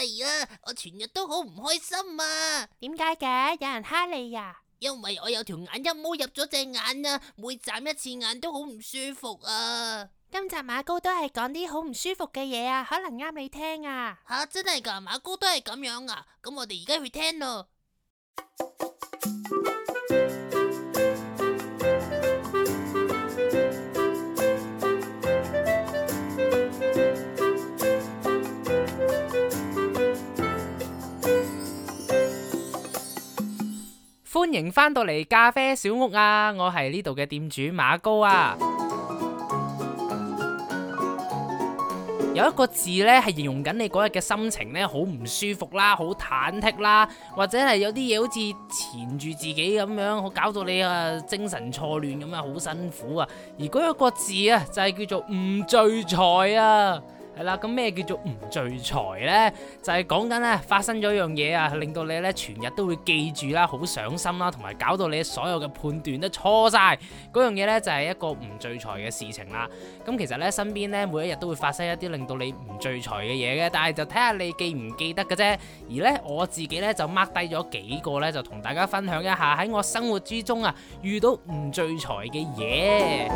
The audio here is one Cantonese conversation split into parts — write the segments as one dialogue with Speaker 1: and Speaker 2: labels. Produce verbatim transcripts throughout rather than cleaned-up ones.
Speaker 1: 哎呀，我全日都好唔開心啊！
Speaker 2: 點解嘅？有人蝦你呀？
Speaker 1: 因為我有條眼一毛入咗隻眼啊，每眨一次眼都好唔舒服啊！
Speaker 2: 今集馬高都係講啲好唔舒服嘅嘢啊，可能啱你聽啊！
Speaker 1: 吓，真係噶？馬高都係咁樣啊？咁我哋而家去聽咯。
Speaker 3: 歡迎返到嚟咖啡小屋啊！我係呢度嘅店主馬高啊。有一個字呢係形容緊你嗰日嘅心情呢，好唔舒服啦，好忐忑啦，或者係有啲嘢好似纏住自己咁樣，好搞到你啊精神錯亂咁啊，好辛苦啊。而嗰一個字啊，就係叫做唔聚財啊。係啦，咁咩叫做唔聚財呢？就係講緊咧發生咗一樣嘢啊，令到你咧全日都會記住啦，好上心啦，同埋搞到你所有嘅判斷都錯晒。嗰樣嘢呢，就係一個唔聚財嘅事情啦。咁其實呢，身邊呢，每一日都會發生一啲令到你唔聚財嘅嘢嘅，但係就睇下你記唔記得嘅啫。而呢，我自己呢，就 mark 低咗幾個呢，就同大家分享一下喺我生活之中啊遇到唔聚財嘅嘢。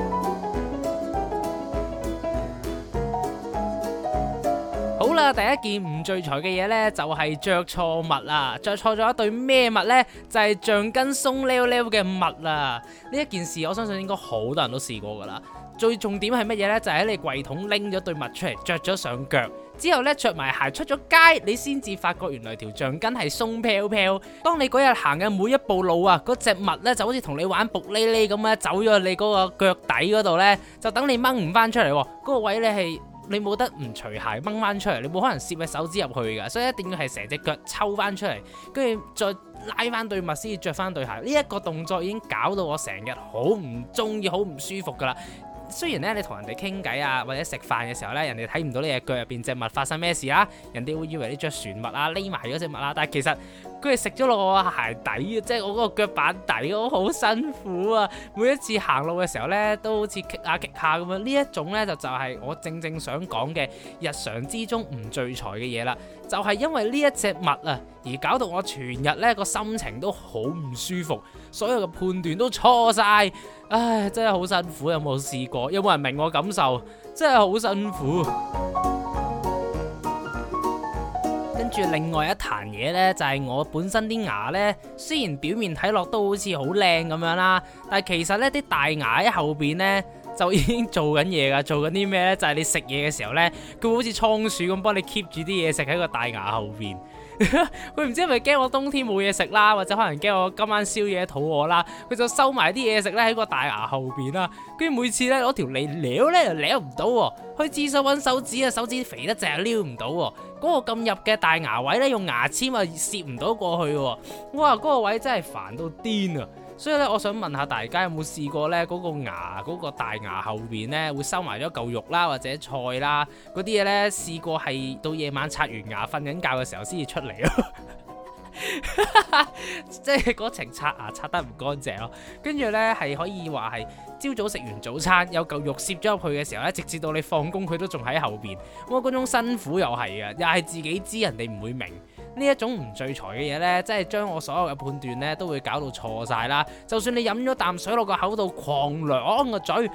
Speaker 3: 好啦，第一件唔聚財嘅嘢呢，就係着錯襪啦，着錯咗一對咩襪呢？就係橡筋鬆溜溜嘅襪啦。呢一件事我相信應該好多人都試過噶啦。最重點係乜嘢呢？就係喺你櫃桶拎咗對襪出嚟，着咗上腳之後呢，着埋鞋出咗街，你先至發覺原來條橡筋係鬆飄飄。當你嗰日行嘅每一步路啊，嗰隻襪呢就好似同你玩卜哩哩咁咧，走咗去你嗰個腳底嗰度呢，就等你掹唔翻出嚟。嗰個位呢係。你冇得唔除鞋掹翻出嚟，你冇可能攝隻手指入去噶，所以一定要係成隻腳抽翻出嚟，跟住再拉翻對襪先至着翻對鞋。呢一個動作已經搞到我成日好唔中意，好唔舒服噶啦。雖然咧你同人哋傾偈啊，或者食飯嘅時候咧，人哋睇唔到你隻腳入邊隻襪發生咩事啦，人哋會以為你着船襪啊，匿埋嗰隻襪啦，但係其實佢係食咗落我鞋底嘅，即係我嗰個腳板底，我好辛苦啊！每一次行路嘅時候咧，都好似棘下棘下咁樣。呢一種咧就就係我正正想講嘅日常之中唔聚財嘅嘢啦。就係因為呢一隻襪啊，而搞到我全日咧個心情都好唔舒服，所有嘅判斷都錯晒。唉，真係好辛苦。有冇試過？有冇人明我感受？真係好辛苦。跟住另外一壇嘢呢，就係我本身啲牙呢，雖然表面睇落都好似好靚咁樣啦，但係其實呢啲大牙喺後邊呢，就已經做緊嘢噶。做緊啲咩呢？就係你食嘢嘅時候呢，佢會好似倉鼠咁幫你 keep 住啲嘢食喺個大牙後邊。佢唔知係咪驚我冬天冇嘢食啦，或者可能驚我今晚宵夜肚餓啦，佢就收埋啲嘢食咧喺個大牙後邊啦。跟住每次咧攞條脷撩咧就撩唔到，去廁所揾手指啊，手指肥得淨係撩唔到。嗰個咁入嘅大牙位咧，用牙籤啊攝唔到過去。哇，嗰個位真係煩到癲啊！所以咧，我想問下大家有冇試過咧，嗰個牙嗰個大牙後邊咧會收埋咗嚿肉啦，或者菜啦嗰啲嘢咧，試過係到夜晚刷完牙瞓緊覺嘅時候先至出嚟咯。即係嗰程刷牙刷得唔乾淨咯，跟住呢，係可以話係朝早食完早餐有嚿肉攝咗入去嘅時候呢，直至到你放工佢都仲喺後邊。哇，嗰種辛苦又係嘅，又係自己知人哋唔會明。呢一種唔聚財嘅嘢呢，即係將我所有嘅判斷呢都會搞到錯晒啦。就算你飲咗啖水落個口度狂兩個嘴，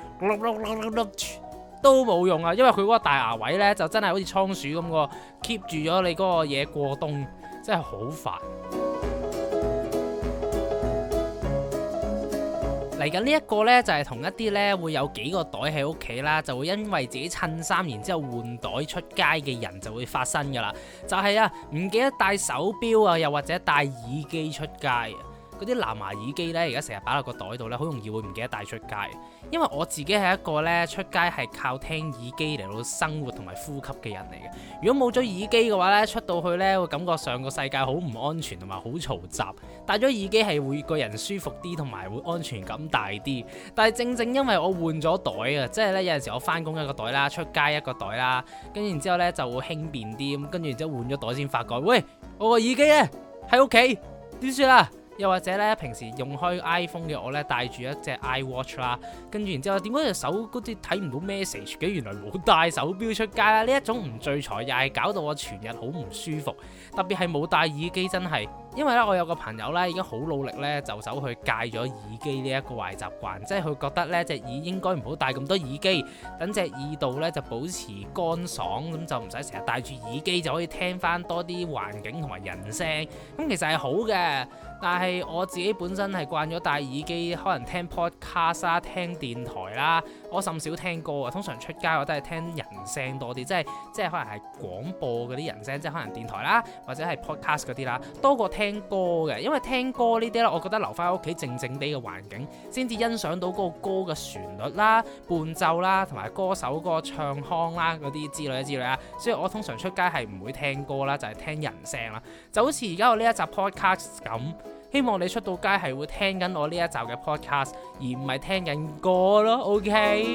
Speaker 3: 都冇用啊，因為佢嗰個大牙位呢，就真係好似倉鼠咁個 keep 住咗你嗰個嘢過冬。真係好煩。嚟緊呢一個呢，就係同一啲呢會有幾個袋喺屋企啦，就會因為自己襯衫然之後換袋出街嘅人就會發生噶啦。就係啊，唔記得帶手錶啊，又或者帶耳機出街啊。嗰啲藍牙耳機呢，而家成日擺落個袋度呢，好容易會唔記得帶出街。因為我自己係一個呢出街係靠聽耳機嚟到生活同埋呼吸嘅人嚟嘅。如果冇咗耳機嘅話呢，出到去呢會感覺上個世界好唔安全同埋好嘈雜。戴咗耳機係會個人舒服啲同埋會安全感大啲。但係正正因為我換咗袋啊，即係呢有陣時我翻工一個袋啦，出街一個袋啦，跟住然之後呢就會輕便啲咁，跟住然之後換咗袋先發覺，喂，我個耳機呢喺屋企點算啊？ 又或者咧平時用開 iPhone 嘅我咧戴住一隻 iWatch 啦，跟住然之後點解隻手嗰啲睇唔到 message 嘅？原來冇帶手錶出街啦！呢一種唔聚財又係搞到我全日好唔舒服，特別係冇戴耳機真係，因為咧我有個朋友咧已經好努力咧就走去戒咗耳機呢一個壞習慣，即係佢覺得咧隻耳應該唔好戴咁多耳機，等隻耳道咧就保持乾爽，咁就唔使成日戴住耳機就可以聽翻多啲環境同埋人聲，咁其實係好嘅。但係我自己本身係慣咗戴耳機，可能聽 podcast 啦、聽電台啦，我甚少聽歌啊。通常出街我都係聽人聲多啲，即係即係可能係廣播嗰啲人聲，即係可能電台啦，或者係 podcast 嗰啲啦，多過聽歌嘅。因為聽歌呢啲咧，我覺得留翻喺屋企靜靜地嘅環境，先至欣賞到嗰個歌嘅旋律啦、伴奏啦，同埋歌手嗰個唱腔啦嗰啲之類之類啊。所以我通常出街係唔會聽歌啦，就係聽人聲啦。就好似而家我呢一集 podcast 咁。希望你出到街係會聽緊我呢一集嘅 podcast， 而唔係聽緊歌咯 ，OK？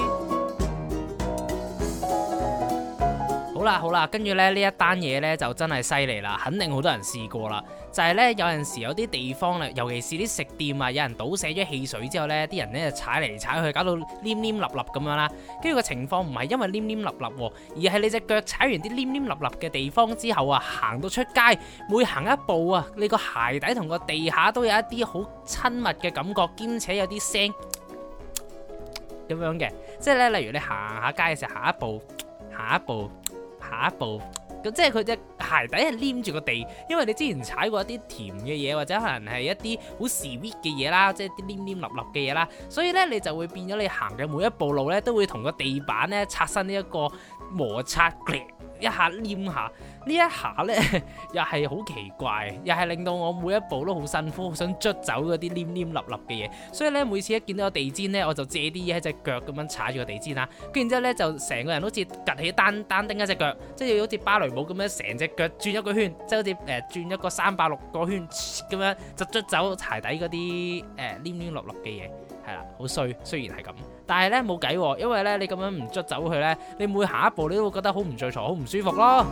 Speaker 3: 好啦好啦，跟住咧呢一單嘢咧就真係犀利啦，肯定好多人試過啦。就係咧有陣時有啲地方咧，尤其是啲食店啊，有人倒瀉咗汽水之後咧，啲人咧就踩嚟踩去，搞到黏黏立立咁樣啦。跟住個情況唔係因為黏黏立立喎，而係你隻腳踩完啲黏黏立立嘅地方之後啊，行到出街，每行一步啊，你個鞋底同個地下都有一啲好親密嘅感覺，兼且有啲聲咁樣嘅。即係咧，例如你行下街嘅時候，行一步，行一步。下一步咁，即係佢隻鞋底係黏住個地，因為你之前踩過一啲甜嘅嘢，或者可能係一啲好 sweet 嘅嘢啦，即係啲黏黏立立嘅嘢啦，所以咧你就會變咗你行嘅每一步路咧，都會同個地板咧擦身呢一個摩擦，一下黏下。呢一下咧又係好奇怪，又係令到我每一步都好辛苦，好想捽走嗰啲黏黏立立嘅嘢。所以咧每次一見到個地氈咧，我就借啲嘢喺隻腳咁樣踩住個地氈啦。跟住之後咧就成個人好似趌起單單丁一隻腳，即係好似芭蕾舞咁樣成隻腳轉一個圈，即係好似誒、呃、轉一個三百六個圈咁樣，就捽走鞋底嗰啲誒黏黏立立嘅嘢。係啦，好衰，雖然係咁，但係咧冇計喎，因為咧你咁樣唔捽走佢咧，你每行一步你都會覺得好唔聚財，好唔舒服咯。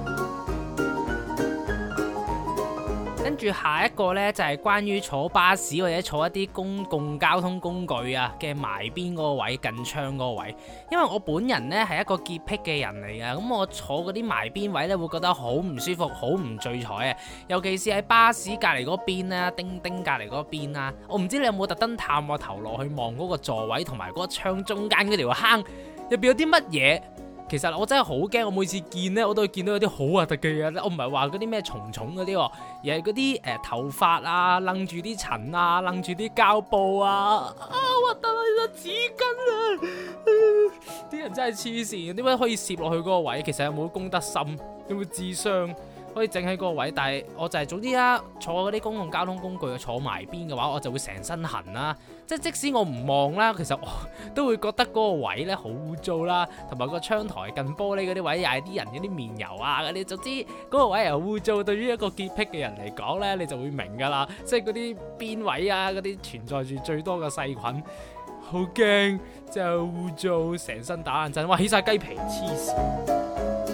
Speaker 3: 跟住下一個呢，就係關於坐巴士或者坐一啲公共交通工具啊嘅埋邊嗰個位，近窗嗰個位，因為我本人呢係一個潔癖嘅人嚟嘅，咁我坐嗰啲埋邊位呢，會覺得好唔舒服，好唔聚財啊，尤其是喺巴士隔離嗰邊啊，叮叮隔離嗰邊啊，我唔知你有冇特登探個頭落去望嗰個座位同埋嗰個窗中間嗰條坑入邊有啲乜嘢。其實我真係好驚，我每次見呢，我都會見到有啲好核突嘅嘢。我唔係話嗰啲咩蟲蟲嗰啲，而係嗰啲誒頭髮啊，擸住啲塵啊，擸住啲膠布啊，啊核突啊！紙巾啊，啲人真係黐線，點解可以攝落去嗰個位？其實有冇公德心，有冇智商可以整喺嗰個位？但係我就係、是、總之啦，坐嗰啲公共交通工具坐埋邊嘅話，我就會成身痕啦。即係即使我唔望啦，其實我都會覺得嗰個位咧好污糟啦，同埋個窗台近玻璃嗰啲位又係啲人嗰啲面油啊嗰啲，總之嗰個位又污糟。對於一個潔癖嘅人嚟講咧，你就會明噶啦，即係嗰啲邊位啊嗰啲存在住最多嘅細菌，好驚，真係污糟，成身打冷震，哇起晒雞皮，黐線。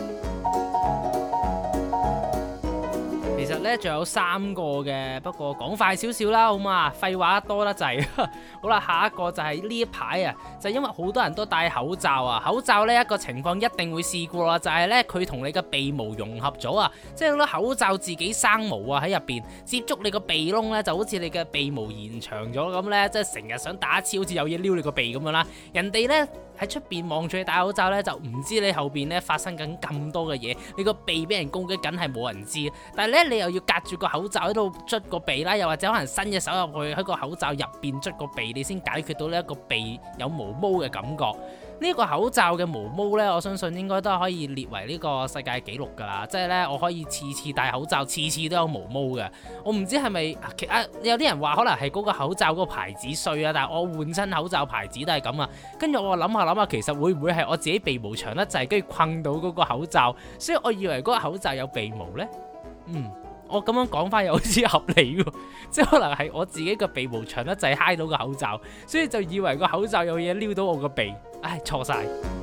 Speaker 3: 其實咧仲有三個嘅，不過講快少少啦，好嘛？廢話多得滯。好啦，下一個就係呢一排啊，就係、因為好多人都戴口罩啊，口罩呢一個情況一定會試過啦，就係咧佢同你嘅鼻毛融合咗啊，即係好多口罩自己生毛啊喺入邊，接觸你個鼻窿咧，就好似你嘅鼻毛延長咗咁咧，即係成日想打一次好似有嘢撩你個鼻咁樣啦。人哋咧喺出邊望住你戴口罩咧，就唔知你後邊咧發生緊咁多嘅嘢，你個鼻俾人攻擊緊係冇人知，但係咧你又要隔住個口罩喺度捽個鼻啦，又或者可能伸隻手入去喺個口罩入邊捽個鼻，你先解決到呢一個鼻有毛毛嘅感覺。呢、這個口罩嘅毛毛呢，我相信應該都可以列為呢個世界紀錄㗎啦。即係呢，我可以次次戴口罩，次次都有毛毛嘅。我唔知係咪啊？有啲人話可能係嗰個口罩嗰個牌子衰啊，但係我換親口罩牌子都係咁啊。跟住我諗下諗下，其實會唔會係我自己鼻毛長得滯，跟住困到嗰個口罩，所以我以為嗰個口罩有鼻毛呢。嗯。我咁樣講翻又好似合理喎，即係可能係我自己個鼻毛長得滯揩到個口罩，所以就以為個口罩有嘢撩到我個鼻，唉錯晒。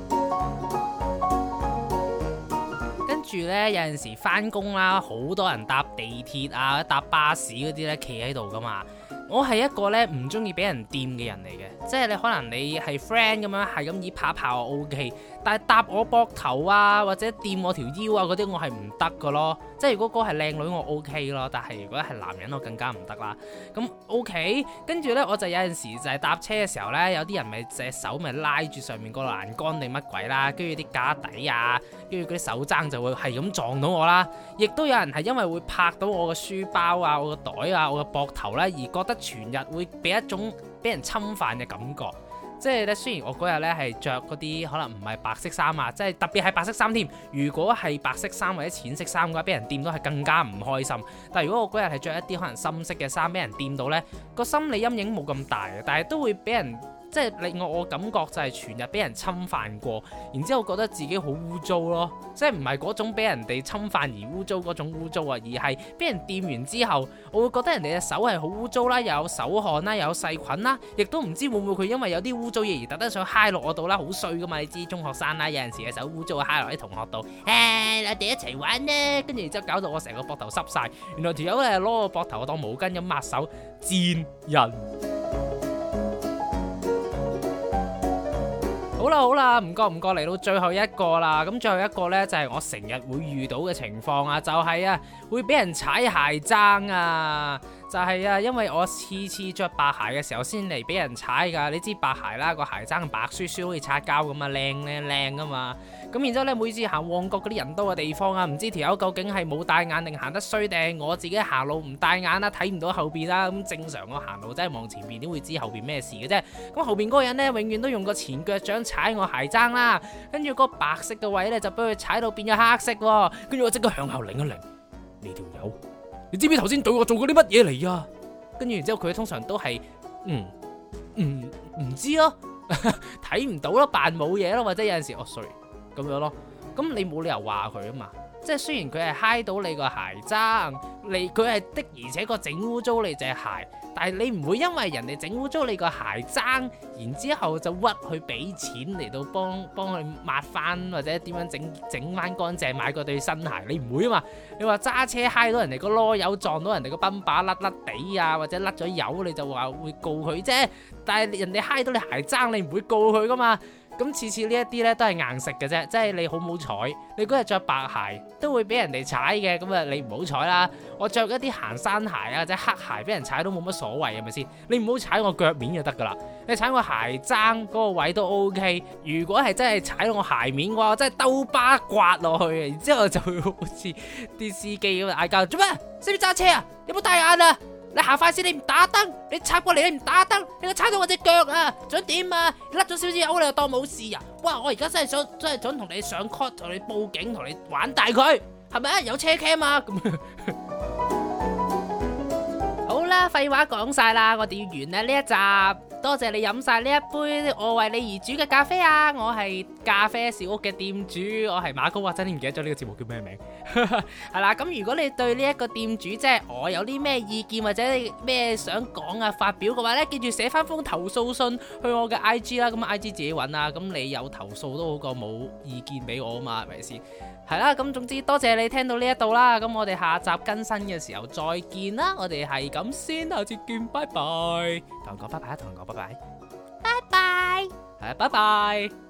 Speaker 3: 跟住呢，有陣時翻工啦，好多人搭地鐵啊、搭巴士嗰啲呢，企喺度噶嘛。 我係一個咧唔中意俾人掂嘅人嚟嘅，即係你可能你係 friend 咁樣，係咁以拍拍我 OK，但係搭我膊頭啊或者掂我條腰啊嗰啲我係唔得噶咯。即係如果嗰個係靚女我 OK 咯，但係如果係男人我更加唔得啦。咁 OK， 跟住咧我就有陣時就係搭車嘅時候咧，有啲人咪隻手咪拉住上面個欄杆定乜鬼啦，跟住啲架底啊，跟住嗰啲手踭就會係咁撞到我啦。亦都有人係因為會拍到我個書包啊、我個袋啊、我個膊頭咧，而覺得全日會俾一種俾人侵犯嘅感覺。即係咧，雖然我嗰日咧係着嗰啲可能唔係白色衫啊，即係特別係白色衫添。如果係白色衫或者淺色衫嘅話，俾人掂到係更加唔開心。但係如果我嗰日係着一啲可能深色嘅衫，俾人掂到呢，個心理陰影冇咁大嘅，但係都會俾人即係令我我感覺就係全日俾人侵犯過，然之後覺得自己好污糟咯。即係唔係嗰種俾人哋侵犯而污糟嗰種污糟啊，而係俾人掂完之後，我會覺得人哋嘅手係好污糟啦，又有手汗啦，又有細菌啦，亦都唔知會唔會佢因為有啲污糟嘢而特登想揩落我度啦，好衰噶嘛！你知中學生啦，有陣時嘅手污糟啊，揩落啲同學度，誒、哎，我哋一齊玩咧，跟住然之後搞到我成個膊頭濕晒。原來條友咧攞個膊頭當毛巾咁抹手，賤人。好啦好啦，唔覺唔覺嚟到最後一個啦，咁最後一個呢，就係我成日會遇到嘅情況啊，就係啊會俾人踩鞋踭啊，就係啊因為我次次着白鞋嘅時候先嚟俾人踩噶，你知白鞋啦，個鞋踭白雪雪好似擦膠咁啊，靚靚靚噶嘛，咁然之後呢，每次行旺角嗰啲人多嘅地方啊，唔知條友究竟係冇帶眼定行得衰定我自己行路唔帶眼啦，睇唔到後邊啦，咁正常我行路真係望前邊點會知後邊咩事嘅啫，咁後邊嗰個人呢，永遠都用個前腳掌踩我鞋踭啦，跟住嗰個白色嘅位咧就俾佢踩到變咗黑色喎，跟住我即刻向後擰一擰，你條友，你知唔知頭先對我做過啲乜嘢嚟啊？跟住然之後佢通常都係嗯嗯唔知咯，睇唔到咯，扮冇嘢咯，或者有陣時哦 sorry 咁樣咯，咁你冇理由話佢啊嘛。即係雖然佢係揩到你個鞋踭，你佢係的而且確整污糟你隻鞋，但係你唔會因為人哋整污糟你個鞋踭，然之後就屈去俾錢嚟到幫幫佢抹翻或者點樣整整翻乾淨買個對新鞋，你唔會啊嘛。你話揸車揩到人哋個囉柚撞到人哋個泵把甩甩地啊，或者甩咗油，你就話會告佢啫。但係人哋揩到你鞋踭，你唔會告佢噶嘛。咁次次呢一啲咧都係硬食嘅啫，即係你好唔好彩，你嗰日着白鞋都會俾人哋踩嘅，咁啊你唔好彩啦。我着一啲行山鞋啊或者黑鞋俾人踩都冇乜所謂，係咪先？你唔好踩我腳面就得噶啦，你踩我鞋踭嗰個位都 OK。如果係真係踩到我鞋面嘅話，我真係兜巴刮落去，然之後就會好似啲司機咁嗌交，做咩？識唔識揸車啊？有冇戴眼啊？你行快啲，你唔打燈，你插過嚟你唔打燈，你個踩到我隻腳啊！想點啊？甩咗少少油你又當冇事啊？哇！我而家真係想真係想同你上 court， 同你報警，同你玩大佢，係咪啊？有車 cam 啊？咁好啦，廢話講晒啦，我哋要完啦呢一集。多謝你飲晒呢一杯我為你而煮嘅咖啡啊！我係咖啡小屋嘅店主，我係馬高，或者你唔記得咗呢個節目叫咩名？係啦，咁如果你對呢一個店主即係我有啲咩意見或者咩想講啊發表嘅話呢，記住寫翻封投訴信去我嘅 I G 啦，咁 I G 自己揾啊，咁你有投訴都好過冇意見俾我啊嘛，係咪先？係啦，咁總之多謝你聽到呢一度啦，咁我哋下集更新嘅時候再見啦，我哋係咁先，下次見，拜拜，同人講拜拜，同人講拜拜，
Speaker 2: 拜拜，
Speaker 3: 係，拜拜。